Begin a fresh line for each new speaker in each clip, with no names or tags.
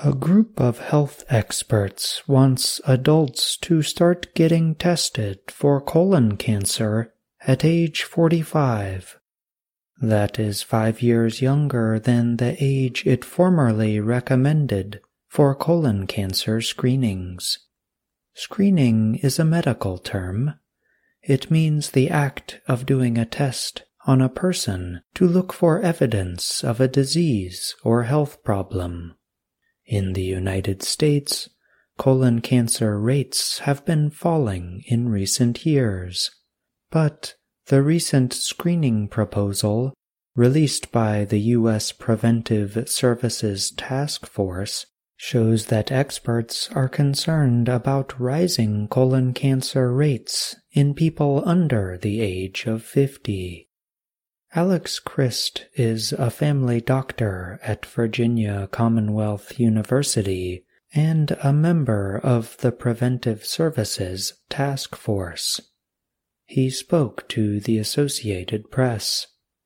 A group of health experts wants adults to start getting tested for colon cancer at age 45. That is 5 years younger than the age it formerly recommended for colon cancer screenings. Screening is a medical term. It means the act of doing a test on a person to look for evidence of a disease or health problem. In the United States, colon cancer rates have been falling in recent years, but the recent screening proposal, released by the U.S. Preventive Services Task Force, shows that experts are concerned about rising colon cancer rates in people under the age of 50. Alex Christ is a family doctor at Virginia Commonwealth University and a member of the Preventive Services Task Force. He spoke to the Associated Press.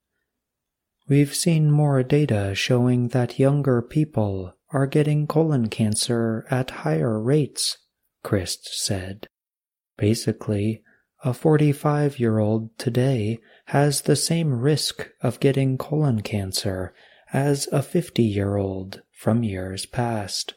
"We've seen more data showing that younger people are getting colon cancer at higher rates," Christ said. "Basically, a 45-year-old today has the same risk of getting colon cancer as a 50-year-old from years past."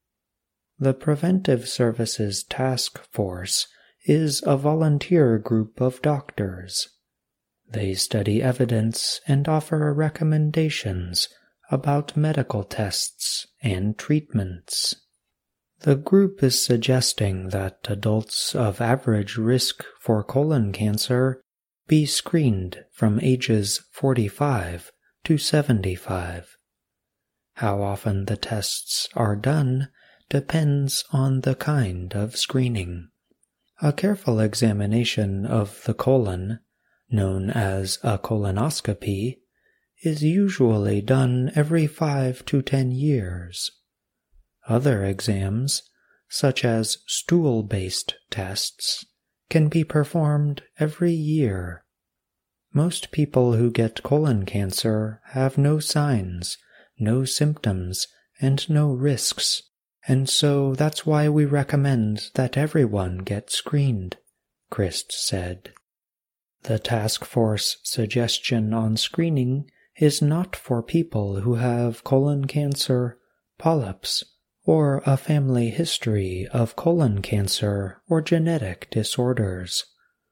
The Preventive Services Task Force is a volunteer group of doctors. They study evidence and offer recommendations about medical tests and treatments. The group is suggesting that adults of average risk for colon cancer be screened from ages 45 to 75. How often the tests are done depends on the kind of screening. A careful examination of the colon, known as a colonoscopy, is usually done every 5 to 10 years. Other exams, such as stool-based tests, can be performed every year. Most people who get colon cancer have no signs, no symptoms, and no risks, and so that's why we recommend that everyone get screened," Christ said. The task force suggestion on screening is not for people who have colon cancer, polyps, or a family history of colon cancer or genetic disorders.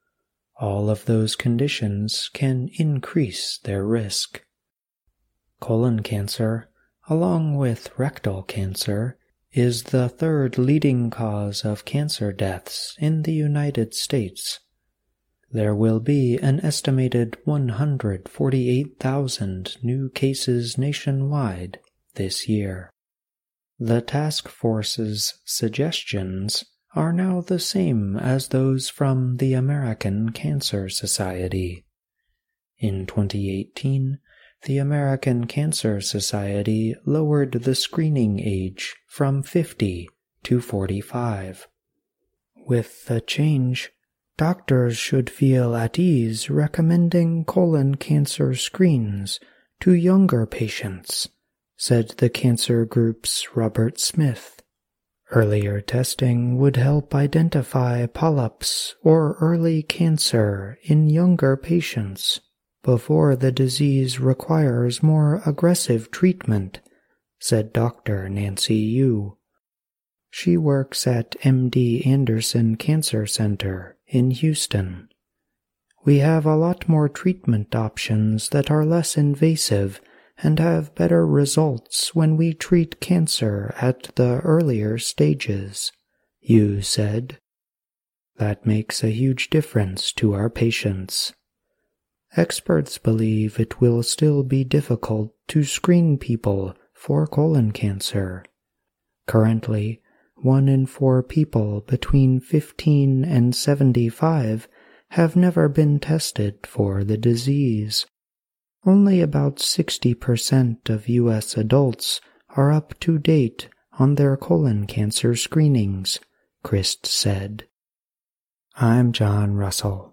All of those conditions can increase their risk. Colon cancer, along with rectal cancer, is the third leading cause of cancer deaths in the United States. There will be an estimated 148,000 new cases nationwide this year. The task force's suggestions are now the same as those from the American Cancer Society. In 2018, the American Cancer Society lowered the screening age from 50 to 45. With the change, doctors should feel at ease recommending colon cancer screens to younger patients, said the cancer group's Robert Smith. Earlier testing would help identify polyps or early cancer in younger patients before the disease requires more aggressive treatment, said Dr. Nancy Yu. She works at MD Anderson Cancer Center in Houston. "We have a lot more treatment options that are less invasive and have better results when we treat cancer at the earlier stages," Yu said. "That makes a huge difference to our patients." Experts believe it will still be difficult to screen people for colon cancer. Currently, 1 in 4 people between 15 and 75 have never been tested for the disease. Only about 60% of U.S. adults are up to date on their colon cancer screenings, Christ said. I'm John Russell.